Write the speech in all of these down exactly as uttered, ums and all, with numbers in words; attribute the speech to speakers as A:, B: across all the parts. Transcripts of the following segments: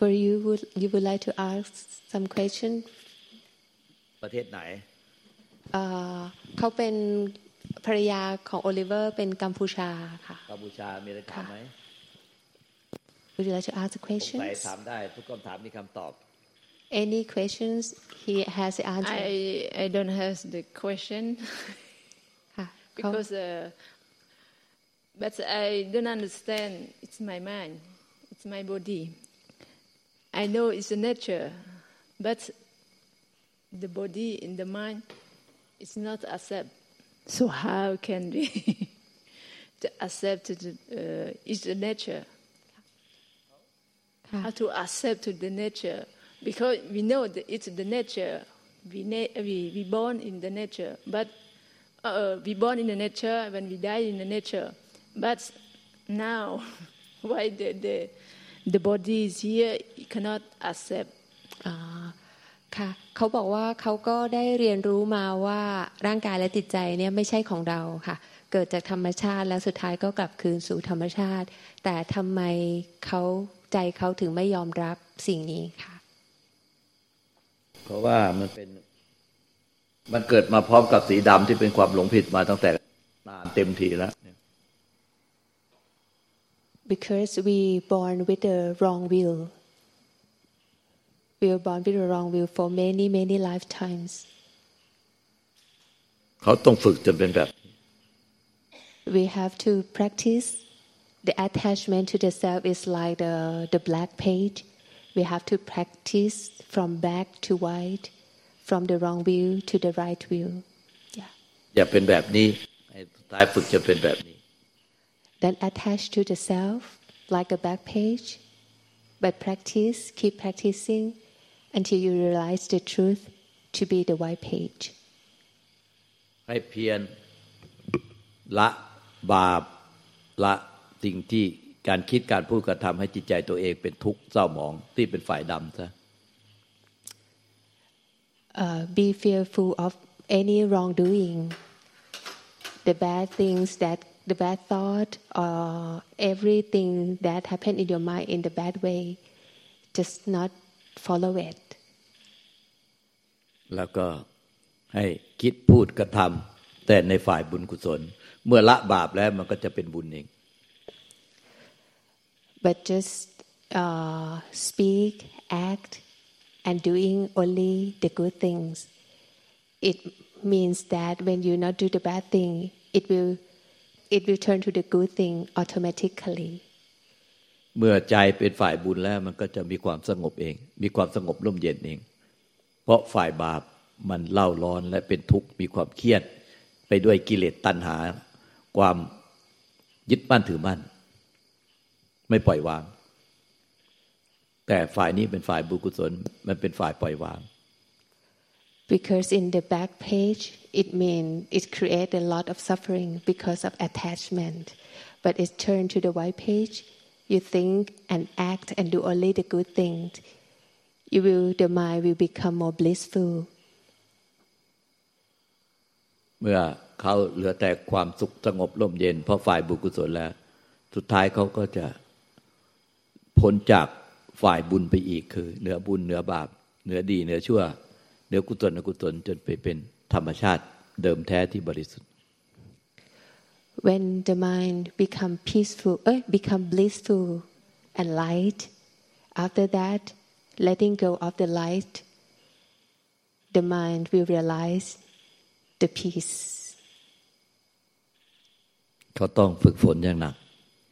A: for you would you would like to ask some question
B: ประเทศไหน
A: เอ่อเขาเป็นภรรยาของโอลิเวอร์เป็นกัมพูชาค่ะ
B: กัมพูชามีอะไรถามไหม
A: Would you like to ask the questions
B: ใครถามได้ทุกคำถามมีคำตอบ
A: Any questions he has the answer
C: I I don't have the question
A: ค่ะ
C: because uh, but I don't understand it's my mind it's my body I know it's a nature but the body in the mind is not accept so how can we to accept the uh, is the nature how to accept to the nature because we know that it's the nature we na- we we born in the nature but uh, we born in the nature when we die in the nature but now why the the the body is here you cannot accept
A: อ่าค่ะเขาบอกว่าเขาก็ได้เรียนรู้มาว่าร่างกายและจิตใจเนี่ยไม่ใช่ของเราค่ะเกิดจากธรรมชาติแล้วสุดท้ายก็กลับคืนสู่ธรรมชาติแต่ทำไมเขาใจเขาถึงไม่ยอมรับสิ่งนี้ค่ะ
B: เพราะว่ามันเป็นมันเกิดมาพร้อมกับสีดำที่เป็นความหลงผิดมาตั้งแต่นานเต็มทีแล้ว
A: Because we born with the wrong will we were born with the wrong will for many many lifetimes
B: เขาต้องฝึกจนเป็นแบบ
A: We have to practice the attachment to the self is like the the black page we have to practice from black to white from the wrong view to the right view yeah
B: อย่าเป็นแบบนี้ให้สุดท้ายฝึกจะเป็นแบบนี้
A: Then attach to the self like a back page but practice keep practicing until you realize the truth to be the white page
B: ให้เพียรละบาปละสิ่งที่การคิดการพูดการทำให้จิตใจตัวเองเป็นทุกข์เศร้าหมองที่เป็นฝ่ายดำซะ
A: uh, Be fearful of any wrongdoing the bad things that the bad thought or everything that happened in your mind in the bad way just not follow it
B: แล้วก็ให้คิดพูดกระทำแต่ในฝ่ายบุญกุศลเมื่อละบาปแล้วมันก็จะเป็นบุญเอง
A: But just uh, speak act and doing only the good things it means that when you not do the bad thing it will it will turn to the good thing automatically
B: เมื่อใจเป็นฝ่ายบุญแล้วมันก็จะมีความสงบเองมีความสงบร่มเย็นเองเพราะฝ่ายบาปมันเล่าร้อนและเป็นทุกข์มีความเครียดไปด้วยกิเลสตัณหาความยึดมั่นถือมั่นไม่ปล่อยวางแต่ฝ่ายนี้เป็นฝ่ายบุญกุศลมันเป็นฝ่ายปล่อยวาง
A: Because in the back page it mean it create a lot of suffering because of attachment but it turn to the white page you think and act and do only the good things you will the mind will become more blissful
B: เมื่อเขาเหลือแต่ความสุขสงบร่มเย็นเพราะฝ่ายบุญกุศลแล้วสุดท้ายเขาก็จะพ้นจากฝ่ายบุญไปอีกคือเหนือบุญเหนือบาปเหนือดีเหนือชั่วเหนือกุศลอกุศลจนไปเป็นธรรมชาติเดิมแท้ที่บริสุทธิ์
A: When the mind become peaceful eh, become blissful and light after that letting go of the light the mind will realize the peace
B: เขาต้องฝึกฝนอย่างหนัก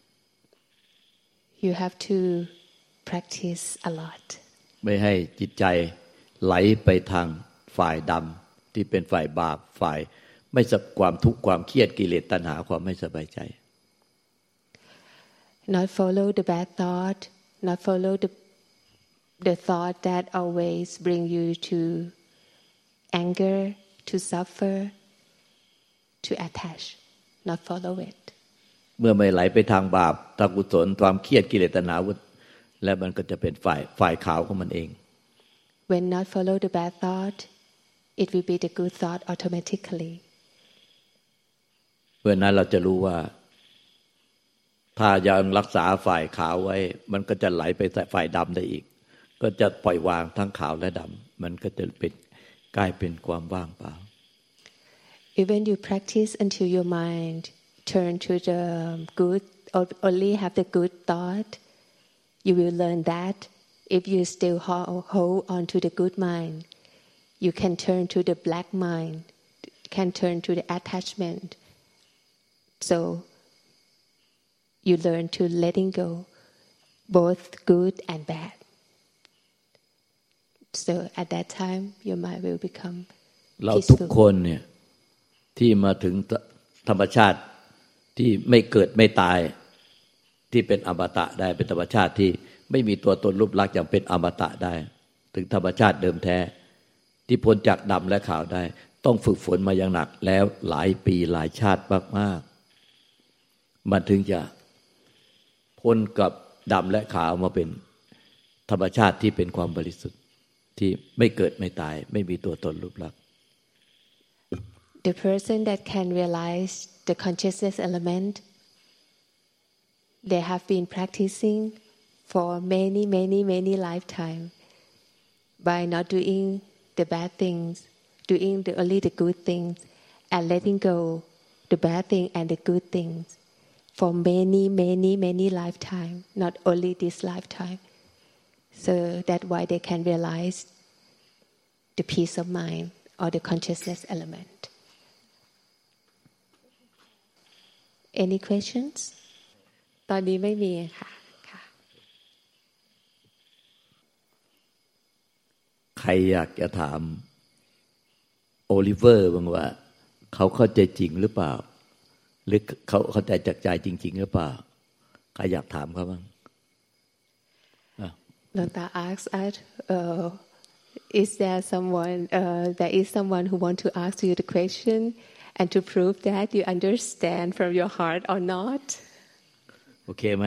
A: You have to practice a lot
B: ไม่ให้จิตใจไหลไปทางฝ่ายดำที่เป็นฝ่ายบาปฝ่ายไม่สับความทุกข์ความเครียดกิเลสตัณหาความไม่สบายใจ
A: Not follow the bad thought not follow the the thought that always bring you to anger to suffer to attach not follow it
B: เมื่อไม่ไหลไปทางบาปทางกุศลความเครียดกิเลสตัณหาและมันก็จะเป็นฝ่ายฝ่ายขาวของมันเอง
A: When not follow the bad thought it will be the good thought automatically
B: เมื่อนั้นเราจะรู้ว่าถ้ายังรักษาฝ่ายขาวไว้มันก็จะไหลไปฝ่ายดำได้อีกก็จะปล่อยวางทั้งขาวและดำมันก็จะเป็นกลายเป็นความว่างเปล่า
A: Even you practice until your mind turn to the good or only have the good thought, you will learn that if you still hold on to the good mind, you can turn to the black mind, can turn to the attachment. So you learn to letting go, both good and bad. So at that time, your mind will become peaceful.
B: เราทุกคนเนี่ยที่มาถึงธรรมชาติที่ไม่เกิดไม่ตายที่เป็นอมตะได้เป็นธรรมชาติที่ไม่มีตัวตนรูปลักษณ์อย่างเป็นอมตะได้ถึงธรรมชาติเดิมแท้ที่พ้นจากดำและขาวได้ต้องฝึกฝนมาอย่างหนักแล้วหลายปีหลายชาติมากๆมันถึงจะพ้นกับดำและขาวมาเป็นธรรมชาติที่เป็นความบริสุทธิ์ที่ไม่เกิดไม่ตายไม่มีตัวตนรูปลักษณ์
A: The person that can realize the consciousness element, they have been practicing for many, many, many lifetimes by not doing the bad things, doing the, only the good things, and letting go the bad thing and the good things for many, many, many lifetimes, not only this lifetime. So that's why they can realize the peace of mind or the consciousness element. Any questions? ตอนนี้ไม่มีค่ะค่ะ
B: ใครอยากจะถามโอลิเวอร์บ้างว่าเขาเข้าใจจริงหรือเปล่าหรือเขาเข้าใจจากใจจริงๆหรือเปล่าใครอยากถามเขาบ้าง
A: Lota asks us, uh, is there someone, uh, there is someone who want to ask you the question and to prove that you understand from your heart or not?
B: โอเคไหม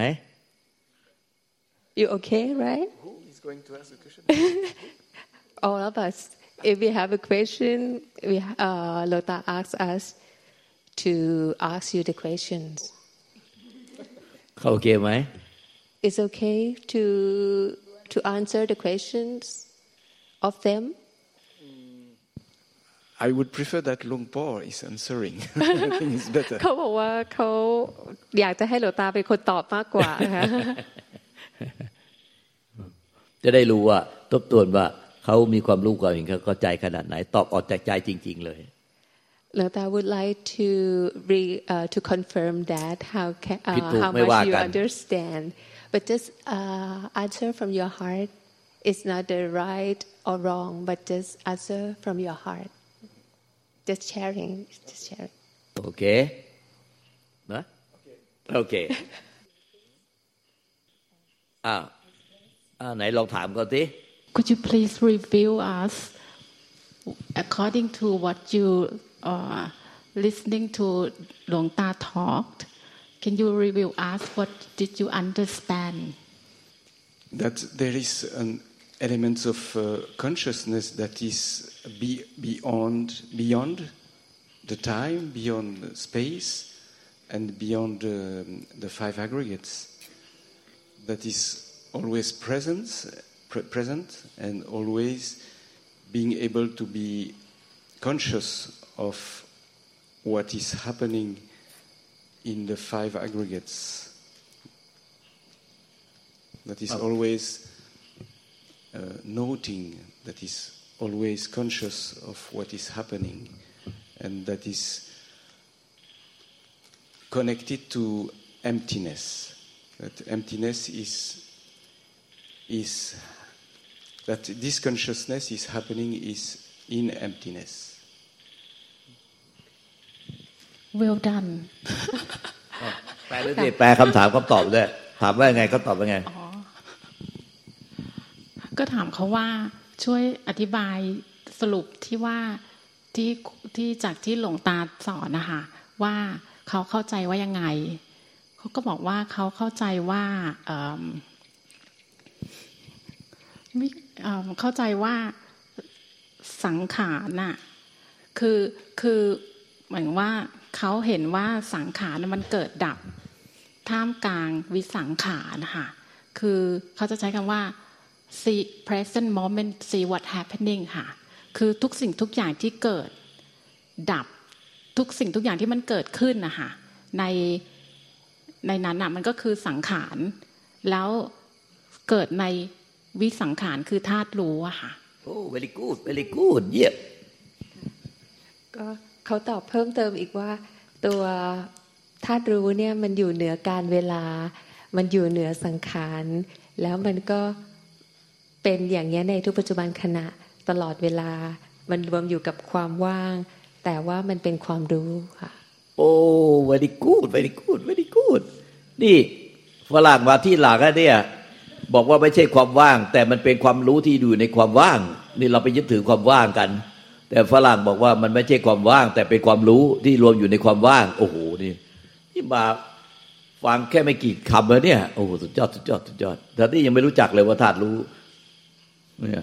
A: You okay, right?
D: Who is going to ask the question?
A: All of us. If we have a question, we, uh, Lota asks us to ask you the questions.
B: เขาโอเคไหม
A: It's okay to to answer the questions of them.
D: I would prefer that Luang Por is answering. I think it's better.
A: เขาบอกว่าเขาอยากจะให้หลวงตาเป็นคนตอบมากกว่าค่ะ
B: จะได้รู้ว่าทบทวนว่าเขามีความรู้ความเห็นเขาเข้าใจขนาดไหนตอบออกจากใจจริงๆเลย
A: Lota would like to re, uh, to confirm that how can, uh, how
B: ไม่ว่า
A: much you
B: กัน
A: understand, but just uh, answer from your heart. It's not the right or wrong, but just answer from your heart. Just sharing, just sharing.
B: โอเคนะโอเคอ้าวอ้าวไหนลองถามเขาสิ
E: Could you please review us according to what you uh, listening to Luang Ta talked? Can you review us what did you understand?
D: That there is an element of uh, consciousness that is be, beyond beyond the time, beyond space, and beyond uh, the five aggregates. That is always present, pre- present, and always being able to be conscious of what is happening in the five aggregates. That is always uh, noting, that is always conscious of what is happening, and that is connected to emptiness. That emptiness is is that this consciousness is happening is in emptiness.
E: Well done.
B: แปลด้วยสิแปลคำถามคำตอบด้วยถามว่าไงก็ตอบว่าไง
E: ก็ถามเขาว่าช่วยอธิบายสรุปที่ว่าที่ที่จากที่หลวงตาสอนนะคะว่าเขาเข้าใจว่ายังไงเขาก็บอกว่าเขาเข้าใจว่าเข้าใจว่าสังขารน่ะคือคือเหมือนว่าเขาเห็นว่าสังขารมันเกิดดับท่ามกลางวิสังขารนะคะคือเขาจะใช้คำว่า see present moment see what happening ค่ะคือทุกสิ่งทุกอย่างที่เกิดดับทุกสิ่งทุกอย่างที่มันเกิดขึ้นนะคะในในนั้นน่ะมันก็คือสังขารแล้วเกิดในวิสังขารคือธาตุรู้อะค่ะ
B: โอ้ very good very good เยี่ยม
A: ก็เขาตอบเพิ่มเติมอีกว่าตัวธาตุรู้เนี่ยมันอยู่เหนือการเวลามันอยู่เหนือสังขารแล้วมันก็เป็นอย่างนี้ในทุกปัจจุบันขณะตลอดเวลามันรวมอยู่กับความว่างแต่ว่ามันเป็นความรู้ค่ะ
B: โอ้ very good very good very good นี่ฝรั่งมาที่หลักเนี่ยบอกว่าไม่ใช่ความว่างแต่มันเป็นความรู้ที่อยู่ในความว่างนี่เราไปยึดถือความว่างกันแต่ฝรั่งบอกว่ามันไม่ใช่ความว่างแต่เป็นความรู้ที่รวมอยู่ในความว่างโอ้โหนี่ที่มาฟังแค่ไม่กี่คำแล้วเนี่ยโอ้โหสุดยอดสุดยอดสุดยอดแต่ที่ยังไม่รู้จักเลยว่าธาตุรู้เนี่ย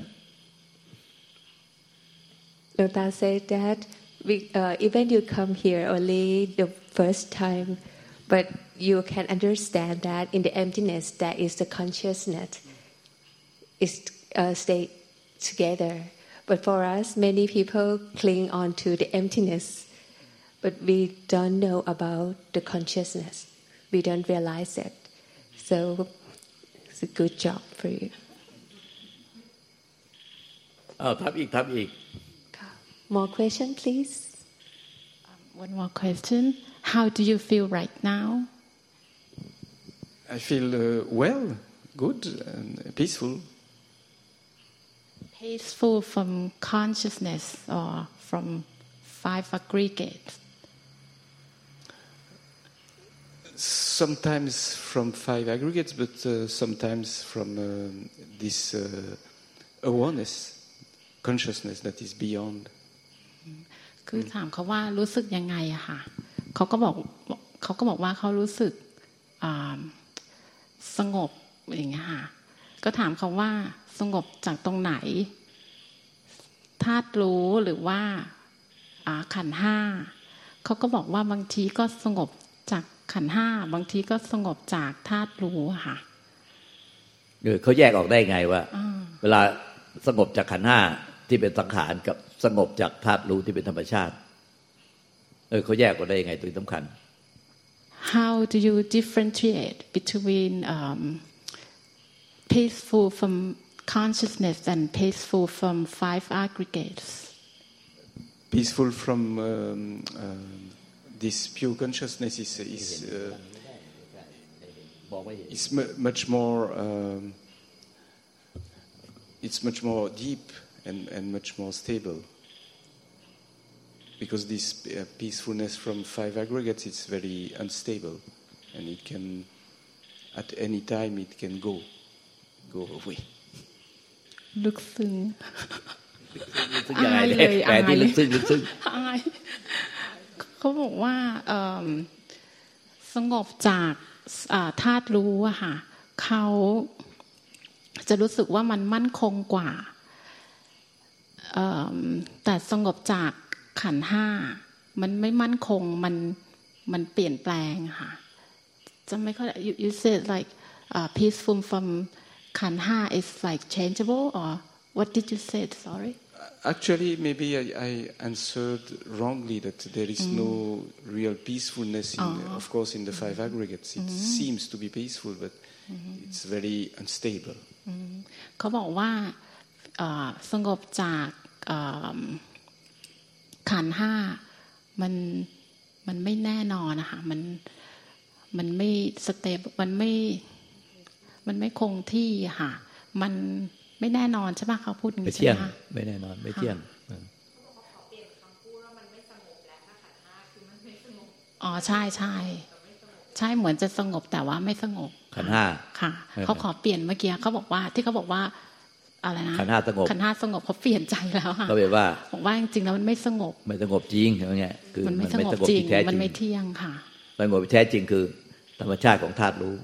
A: Lota said that we, uh, even you come here only the first time but you can understand that in the emptiness that is the consciousness is uh, stay together but for us many people cling on to the emptiness but we don't know about the consciousness we don't realize it so it's a good job for you
B: อ้าวทำอีกทำอีก
A: more question please
E: um, one more question how do you feel right now
D: I feel uh, well good and peaceful
E: peaceful from consciousness or from five aggregates
D: sometimes from five aggregates but uh, sometimes from uh, this uh, awareness consciousness that is beyond
E: คือถามเขาว่ารู้สึกยังไงอะค่ะเขาก็บอกเขาก็บอกว่าเขารู้สึกสงบอย่างเงี้ยค่ะก็ถามเขาว่าสงบจากตรงไหนธาตุรู้หรือว่าขันธ์ห้าเขาก็บอกว่าบางทีก็สงบจากขันธ์ห้าบางทีก็สงบจากธาตุรู้ค่ะ
B: เออเขาแยกออกได้ไงว่าเวลาสงบจากขันธ์ห้าที่เป็นสังขารกับสงบจากธาตุรู้ที่เป็นธรรมชาติเออเขาแยกออกได้ยังไงตัวสำคัญ
E: How do you differentiate between um, peaceful from consciousness and peaceful from five aggregates?
D: Peaceful from um, um, this pure consciousness is is uh, is much more um, it's much more deep and and much more stable. Because this uh, peacefulness from five aggregates is very unstable, and it can, at any time, it can go, go away.
E: ลึกซึ้ง
B: อายเลยอายลึกซึ้งลึกซึ้ง
E: อายเขาบอกว่าสงบจากธาตุรู้อะค่ะเขาจะรู้สึกว่ามันมั่นคงกว่าแต่สงบจากขันธ์ห้ามันไม่มั่นคงมันมันเปลี่ยนแปลงค่ะจะไม่ค่อย you, you said like uh, peaceful from ขันธ์ห้า is like changeable or what did you say sorry
D: actually maybe I, I answered wrongly that there is mm. no real peacefulness in oh. of course in the five aggregates it mm. seems to be peaceful but mm. it's very unstable
E: เขาบอกว่าสงบจากขันธ์ห้ามันมันไม่แน่นอนนะคะมันมันไม่สเตปมันไม่มันไม่คงที่ค่ะมันไม่แน่นอนใช่ไหมเขาพูดอย่างนี้ใช่ไหมคะ
B: ไม่แน่นอนไม่เที่ยง
E: อ๋อใช่ใช่ใช่เหมือนจะสงบแต่ว่าไม่สงบ
B: ขันธ์ห้า
E: ค่ะเขาขอเปลี่ยนเมื่อกี้เขาบอกว่าที่เขาบอกว่าอะไรนะ
B: ขันธ์ห้าสงบ
E: ขันธ์ห้าสงบเขาเปลี่ยนใจแล้วค่ะ
B: เขาบอกว่า
E: บอกว่าจริงๆแล้วมันไม่สงบ
B: ไม่สงบจริงอย่างเงี้ยคือ
E: มันไม่สงบจริงมันไม่เที่ยงค่ะ
B: สงบแท้จริงคือธรรมชาติของธาตุรู้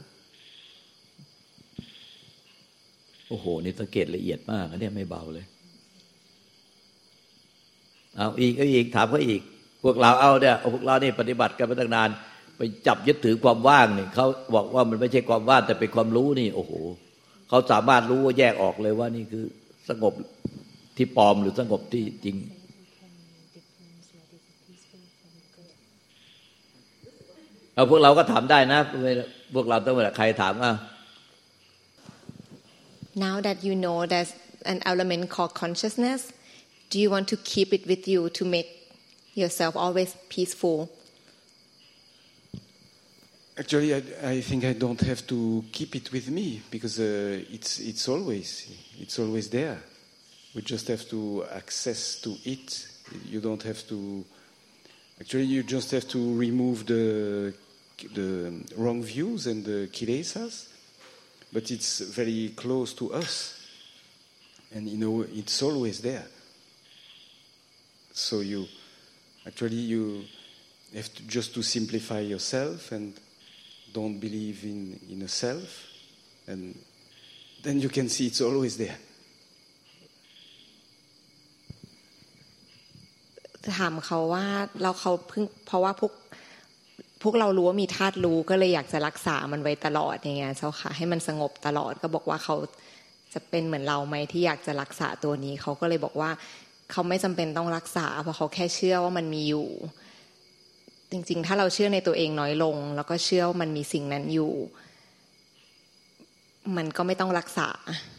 B: โอ้โหนี่สังเกตละเอียดมากอันนี้ไม่เบาเลยเอาอีกเอาอีกถามเขาอีกพวกเราเอาเนี่ยพวกเรานี่ปฏิบัติกันมาตั้งนานไปจับยึดถือความว่างนี่เขาบอกว่ามันไม่ใช่ความว่างแต่เป็นความรู้นี่โอ้โหเขาสามารถรู้ว่าแยกออกเลยว่านี่คือสงบที่ปลอมหรือสงบที่จริงเอาพวกเราก็ถามได้นะพวกเราต้องเวลาใครถามอ่ะ
F: Now that you know there's an element called consciousness, do you want to keep it with you to make yourself always peaceful?
D: Actually, I, I think I don't have to keep it with me because uh, it's it's always it's always there. We just have to access to it. You don't have to. Actually, you just have to remove the the wrong views and the kilesas, but it's very close to us, and you know it's always there. So you actually you have to just to simplify yourself and don't believe in in a self, and then you can see it's always there.
F: ถามเขาว่าเราเขาเพิ่งเพราะว่าพวกพวกเรารู้ว่ามีธาตุรู้ก็เลยอยากจะรักษามันไว้ตลอดอย่างเงี้ยเจ้าค่ะให้มันสงบตลอดก็บอกว่าเขาจะเป็นเหมือนเราไหมที่อยากจะรักษาตัวนี้เขาก็เลยบอกว่าเขาไม่จำเป็นต้องรักษาเพราะเขาแค่เชื่อว่ามันมีอยู่จริงๆถ้าเราเชื่อในตัวเองน้อยลงแล้วก็เชื่อว่ามันมีสิ่งนั้นอยู่มันก็ไม่ต้องรักษา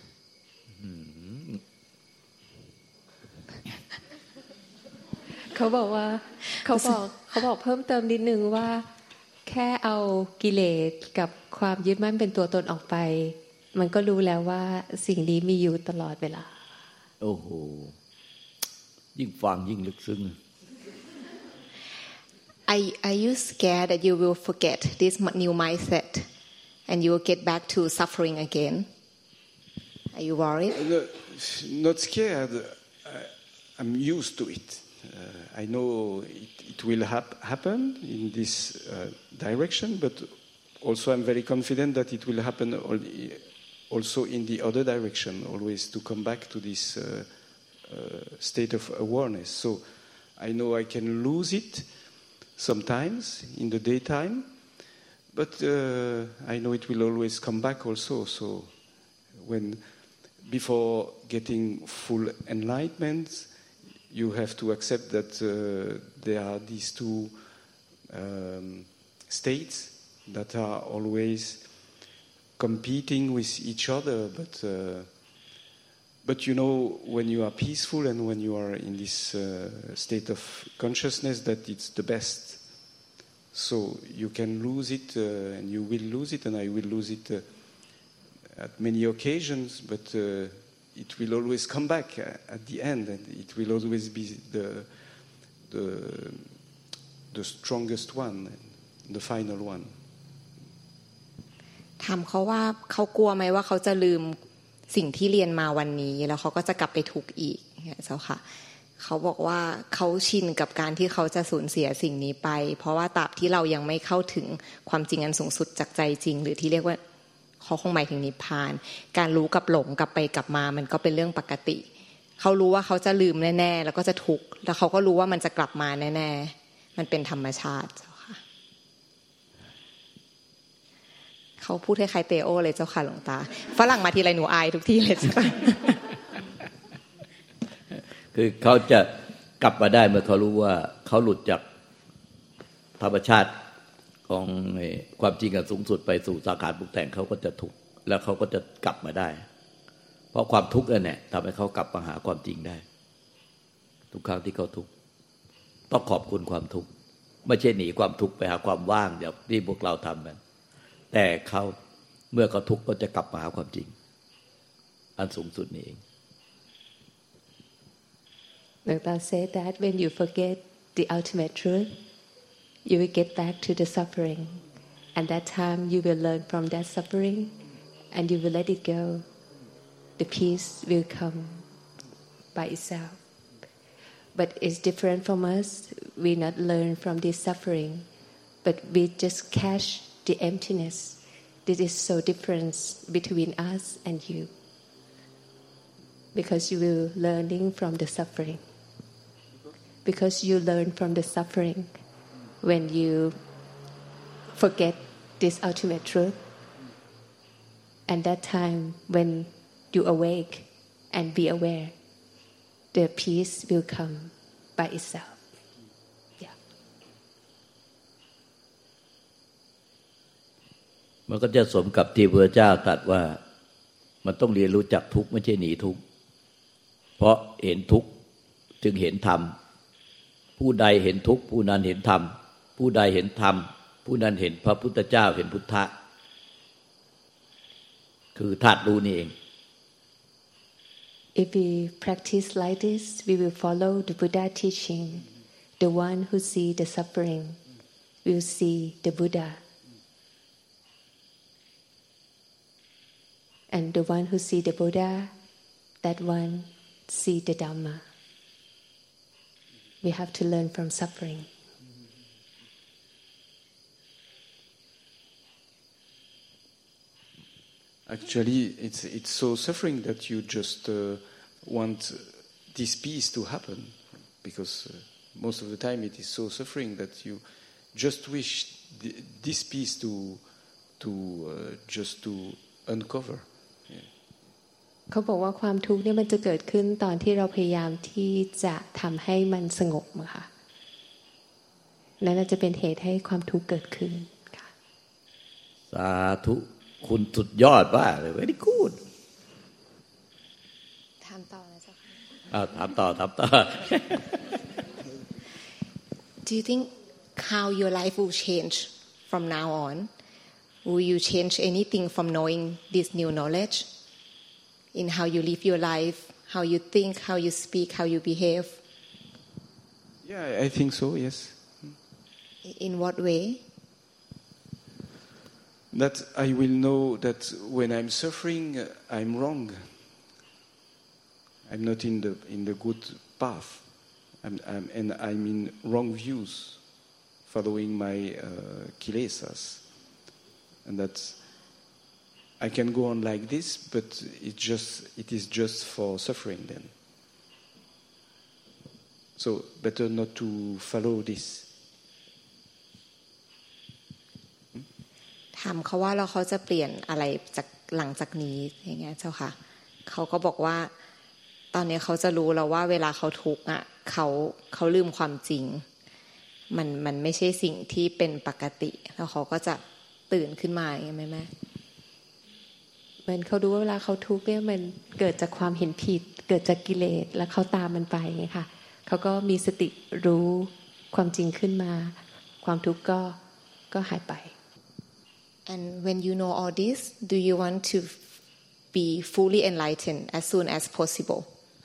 A: เขาบอกว่าเขาบอกเขาบอกเพิ่มเติมนิดนึงว่าแค่เอากิเลสกับความยึดมั่นเป็นตัวตนออกไปมันก็รู้แล้วว่าสิ่งนี้มีอยู่ตลอดเวลา
B: โอ้โหยิ่งฟังยิ่งลึกซึ้ง
F: Are, are you scared that you will forget this new mindset and you will get back to suffering again? Are you worried?
D: No, not scared. I, I'm used to it.Uh, I know it, it will hap- happen in this uh, direction, but also I'm very confident that it will happen also in the other direction, always to come back to this uh, uh, state of awareness. So I know I can lose it sometimes in the daytime, but uh, I know it will always come back also. So when before getting full enlightenment, you have to accept that uh, there are these two um, states that are always competing with each other. But uh, but you know when you are peaceful and when you are in this uh, state of consciousness that it's the best. So you can lose it uh, and you will lose it and I will lose it uh, at many occasions, but. Uh, It will always come back at the end, and it will always be the the the strongest one, the final one.
F: ถามเขาว่าเขากลัวไหมว่าเขาจะลืมสิ่งที่เรียนมาวันนี้แล้วเขาก็จะกลับไปทุกข์อีกเจ้าค่ะเขาบอกว่าเขาชินกับการที่เขาจะสูญเสียสิ่งนี้ไปเพราะว่าตราบที่เรายังไม่เข้าถึงความจริงอันสูงสุดจากใจจริงหรือที่เรียกว่าเขาคงหมายถึงนิพพานการรู้กับหลงกลับไปกลับมามันก็เป็นเรื่องปกติเขารู้ว่าเขาจะลืมแน่ๆแล้วก็จะทุกข์แล้วเขาก็รู้ว่ามันจะกลับมาแน่ๆมันเป็นธรรมชาติเจ้าค่ะเขาพูดให้ใครเตโอเลยเจ้าค่ะหลวงตาฝรั่งมาทีไรหนูอายทุกที่เลยเจ้าค่ะ
B: คือเขาจะกลับมาได้เมื่อเขารู้ว่าเขาหลุดจากธรรมชาติของความจริงอันสูงสุดไปสู่สังขารปรุงแต่งเขาก็จะทุกข์แล้วเขาก็จะกลับมาได้เพราะความทุกข์นั่นแหละทำให้เขากลับมาหาความจริงได้ทุกครั้งที่เขาทุกข์ต้องขอบคุณความทุกข์ไม่ใช่หนีความทุกข์ไปหาความว่างอย่างที่พวกเราทำกันแต่เขาเมื่อเขาทุกข์ก็จะกลับมาหาความจริงอันสูงสุดนี้เอง
A: Dr. said that when you forget the ultimate truth you will get back to the suffering and that time you will learn from that suffering and you will let it go the peace will come by itself but it's different from us we not learn from this suffering but we just catch the emptiness this is so different between us and you because you will learning from the suffering because you learn from the suffering when you forget this ultimate truth and that time when you awake and be aware the peace will come by itself yeah
B: มันก็จะสมกับที่พระเจ้าตรัสว่ามันต้องเรียนรู้จักทุกข์ไม่ใช่หนีทุกข์เพราะเห็นทุกข์จึงเห็นธรรมผู้ใดเห็นทุกข์ผู้นั้นเห็นธรรมผู้ใดเห็นธรรมผู้นั้นเห็นพระพุทธเจ้าเห็นพุทธะคือธาตุรู้นี่เอง
A: If we practice like this we will follow the Buddha teaching the one who see the suffering will see the Buddha and the one who see the Buddha that one see the Dhamma we have to learn from suffering
D: Actually, it's it's so suffering that you just uh, want this peace to happen, because uh, most of the time it is so suffering that you just wish the, this peace to to uh, just to uncover. Yeah.
A: เขาบอกว่าความทุกข์เนี่ยมันจะเกิดขึ้นตอนที่เราพยายามที่จะทำให้มันสงบอะค่ะนั่นจะเป็นเหตุให้ความทุกข์เกิดขึ้นค่ะ
B: สาธุคุณสุดยอดมากเลย very good
F: ถามต่อนะเจ้าค่ะ
B: อ้าวถามต่อถามต่อ
F: Do you think how your life will change from now on? Will you change anything from knowing this new knowledge in how you live your life, how you think, how you speak, how you behave?
D: Yeah, I think so. Yes.
F: In what way?
D: That I will know that when I'm suffering, I'm wrong. I'm not in the in the good path, I'm, I'm, and I'm in wrong views, following my uh, kilesas, and that I can go on like this, but it just it is just for suffering then. So better not to follow this.
F: ถามเขาว่าแล้วเขาจะเปลี่ยนอะไรจากหลังจากนี้อย่างเงี้ยเจ้าค่ะเขาก็บอกว่าตอนนี้เขาจะรู้แล้วว่าเวลาเขาทุกข์อ่ะเขาเขาลืมความจริงมันมันไม่ใช่สิ่งที่เป็นปกติแล้วเขาก็จะตื่นขึ้นมาอย่างเงี้ยแม่แม่
A: เหมือนเขารู้ว่าเวลาเขาทุกข์เนี่ยมันเกิดจากความเห็นผิดเกิดจากกิเลสแล้วเขาตามมันไปไงค่ะเขาก็มีสติรู้ความจริงขึ้นมาความทุกข์ก็ก็หายไป
F: And when you know all this, do you want to be fully enlightened as soon as possible?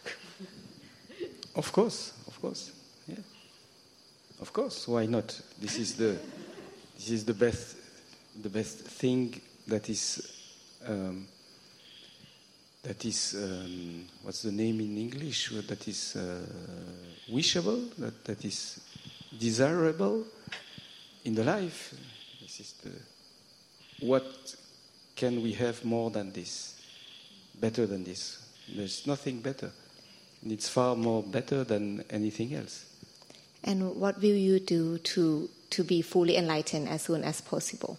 D: Of course, of course, yeah. Of course, why not? This is the this is the best the best thing that is um, that is um, what's the name in English? That is uh, wishable, that that is desirable in the life. This is the What can we have more than this? Better than this? There's nothing better. And it's far more better than anything else.
F: And what will you do to, to be fully enlightened as soon as possible?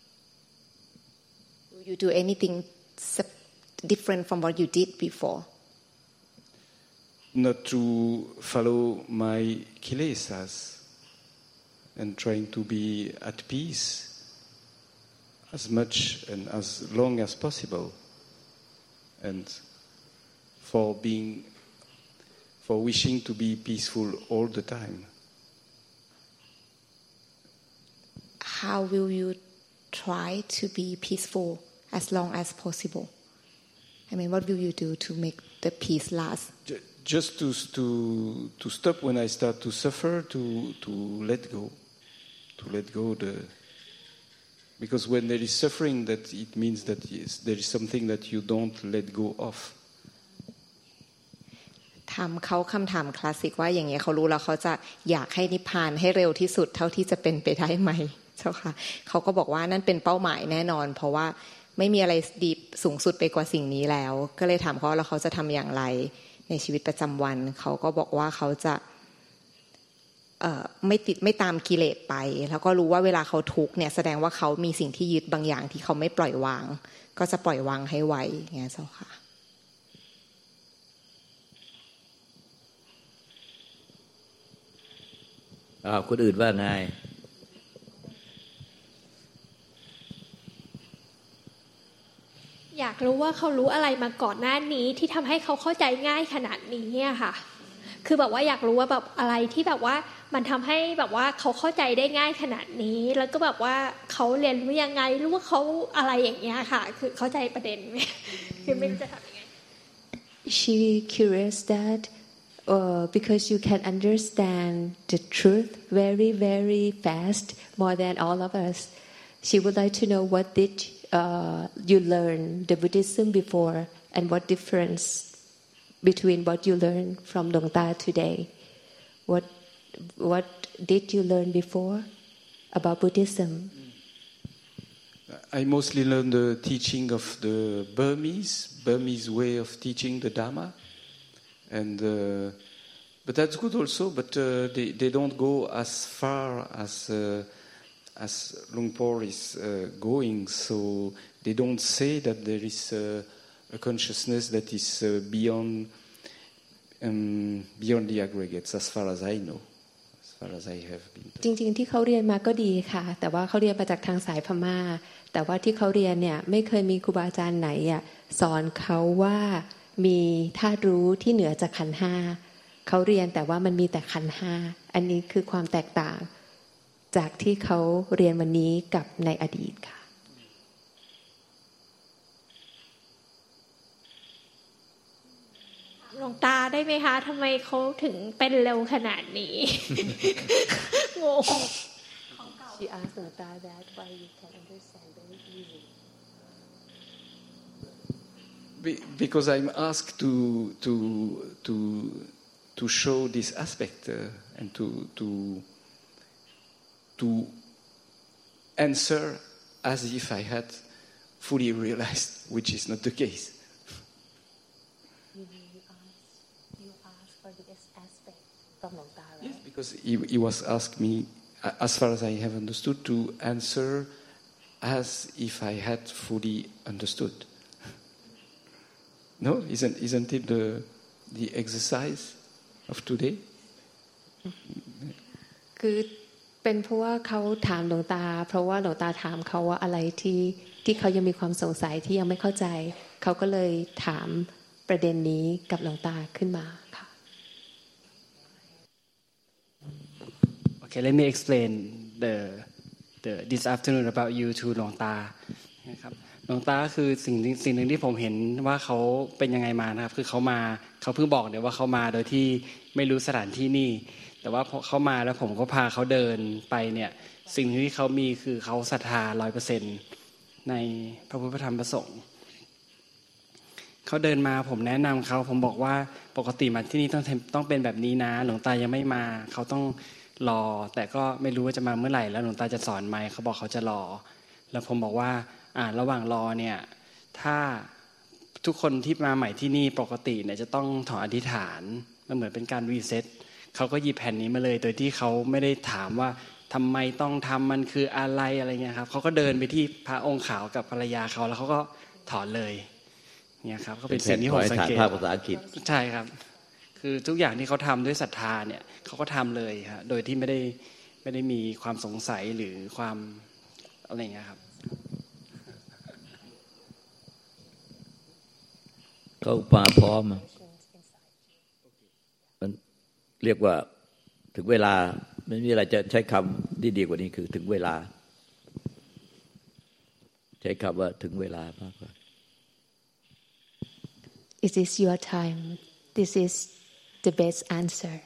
F: Will you do anything different from what you did before?
D: Not to follow my kilesas and trying to be at peace as much and as long as possible, and for being, for wishing to be peaceful all the time.
F: How will you try to be peaceful as long as possible? I mean, what will you do to make the peace last?
D: Just to to to stop when I start to suffer, to to let go, to let go the. Because when there is suffering, that it means that yes, there is something that you don't let go of.
F: ถามเขาคำถามคลาสสิกว่าอย่างเงี้ยเขารู้แล้วเขาจะอยากให้นิพพานให้เร็วที่สุดเท่าที่จะเป็นไปได้ไหมเจ้าค่ะเขาก็บอกว่านั่นเป็นเป้าหมายแน่นอนเพราะว่าไม่มีอะไรดีสูงสุดไปกว่าสิ่งนี้แล้วก็เลยถามเขาแล้วเขาจะทำอย่างไรในชีวิตประจำวันเขาก็บอกว่าเขาจะไม่ติดไม่ตามกิเลสไปแล้วก็รู้ว่าเวลาเขาทุกข์เนี่ยแสดงว่าเขามีสิ่งที่ยึดบางอย่างที่เขาไม่ปล่อยวางก็จะปล่อยวางให้ไวอย่างเงี้ยเจ้าค่ะ
B: อ้าวคนอื่นว่าไง
G: อยากรู้ว่าเขารู้อะไรมาก่อนหน้านี้ที่ทำให้เขาเข้าใจง่ายขนาดนี้อะค่ะคือแบบว่าอยากรู้ว่าแบบอะไรที่แบบว่ามันทำให้แบบว่าเขาเข้าใจได้ง่ายขนาดนี้แล้วก็แบบว่าเขาเรียนรู้ยังไงรู้ว่าเขาอะไรอย่างเงี้ยค่ะคือเข้าใจประเด็นไหมคือไม่รู้จะทำยังไง
A: She curious that uh, because you can understand the truth very very fast more than all of us she would like to know what did uh, you learn the Buddhism before and what difference between what you learned from Dong Ta today. What what did you learn before about Buddhism?
D: I mostly learned the teaching of the Burmese Burmese way of teaching the Dharma, and uh, but that's good also. But uh, they they don't go as far as uh, as Luang Por is uh, going, so they don't say that there is uh, a consciousness that is uh, beyond um, beyond the aggregates, as far as I know, as far as I have been.
A: จริงๆที่เขาเรียนมาก็ดีค่ะแต่ว่าเขาเรียนมาจากทางสายพม่าแต่ว่าที่เขาเรียนเนี่ยไม่เคยมีครูบาอาจารย์ไหนอ่ะสอนเขาว่ามีธาตุรู้ที่เหนือจากขันธ์ห้าเขาเรียนแต่ว่ามันมีแต่ขันธ์ห้าอันนี้คือความแตกต่างจากที่เขาเรียนวันนี้กับในอดีตค่ะ
G: หลวงตาได้ไหมคะทำไมเขาถึงเป็นเร็วขนาดนี้ งง
A: She asked Dong Ta that why you can understand very easy
D: Because I'm asked to to to to show this aspect uh, and to to to answer as if I had fully realized, which is not the case.
A: You ask you ask for this aspect from Dong Ta, right?
D: Yes, because he, he was asked me, as far as I have understood, to answer as if I had fully understood. No, isn't isn't it the the exercise of today?
A: คือเป็นเพราะว่าเขาถามหลวงตาเพราะว่าหลวงตาถามเขาว่าอะไรที่ที่เขายังมีความสงสัยที่ยังไม่เข้าใจเขาก็เลยถามประเด็นนี้กับหลวงตาขึ้นมาค่ะ
H: Okay, let me explain the the this afternoon about you to หลวงตานะครับหลวงตาคือสิ่งสิ่งหนึ่งที่ผมเห็นว่าเขาเป็นยังไงมานะครับคือเขามาเขาเพิ่งบอกเนี่ยว่าเขามาโดยที่ไม่รู้สถานที่นี่แต่ว่าพอเขามาแล้วผมก็พาเขาเดินไปเนี่ยสิ่งที่เขามีคือเขาศรัทธา ร้อยเปอร์เซ็นต์ ในพระพุทธธรรมประสงค์เขาเดินมาผมแนะนำเขาผมบอกว่าปกติมาที่นี่ต้องต้องเป็นแบบนี้นะหลวงตายังไม่มาเขาต้องรอแต่ก็ไม่รู้ว่าจะมาเมื่อไหร่แล้วหลวงตาจะสอนไหมเขาบอกเขาจะรอแล้วผมบอกว่าอ่าระหว่างรอเนี่ยถ้าทุกคนที่มาใหม่ที่นี่ปกติเนี่ยจะต้องถอนอธิษฐานมันเหมือนเป็นการรีเซ็ตเขาก็หยิบแผ่นนี้มาเลยโดยที่เขาไม่ได้ถามว่าทำไมต้องทำมันคืออะไรอะไรเงี้ยครับเขาก็เดินไปที่พระองค์ขาวกับภรรยาเขาแล้วเขาก็ถอนเลยเนี่ยครับก็เป็นสิ่งที่ผมสังเกตภาษาอังกฤษใช่ครับคือทุกอย่างที่เขาทำด้วยศรัทธาเนี่ยเขาก็ทำเลยครับโดยที่ไม่ได้ไม่ได้มีความสงสัยหรือความอะไรเงี้ยครับ
B: เขามาพร้อมมันเรียกว่าถึงเวลาไม่มีอะไรจะใช้คำที่ดีกว่านี้คือถึงเวลาใช้คำว่าถึงเวลามากกว่า
A: It is your time. This is the best answer.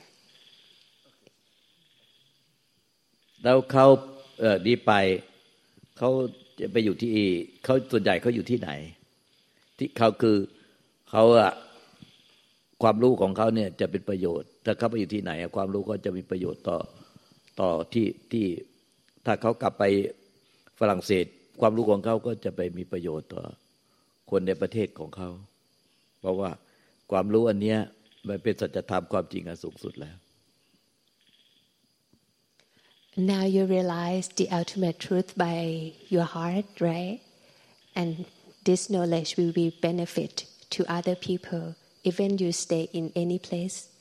B: แล้วเขาเอ่อดีไปเขาจะไปอยู่ที่เขาส่วนใหญ่เขาอยู่ที่ไหนที่เขาคือเขาอะความรู้ของเขาเนี่ยจะเป็นประโยชน์ถ้าเขาไปอยู่ที่ไหนความรู้ก็จะมีประโยชน์ต่อต่อที่ที่ถ้าเขากลับไปฝรั่งเศสความรู้ของเขาก็จะไปมีประโยชน์ต่อคนในประเทศของเขาเพราะว่าความรู้อันเนี้ยมันเป็นสัจธรรมความจริงอันสูงสุดแล้ว
A: Now you realize the ultimate truth by your heart, right? And this knowledge will be benefit to other people even you stay in any place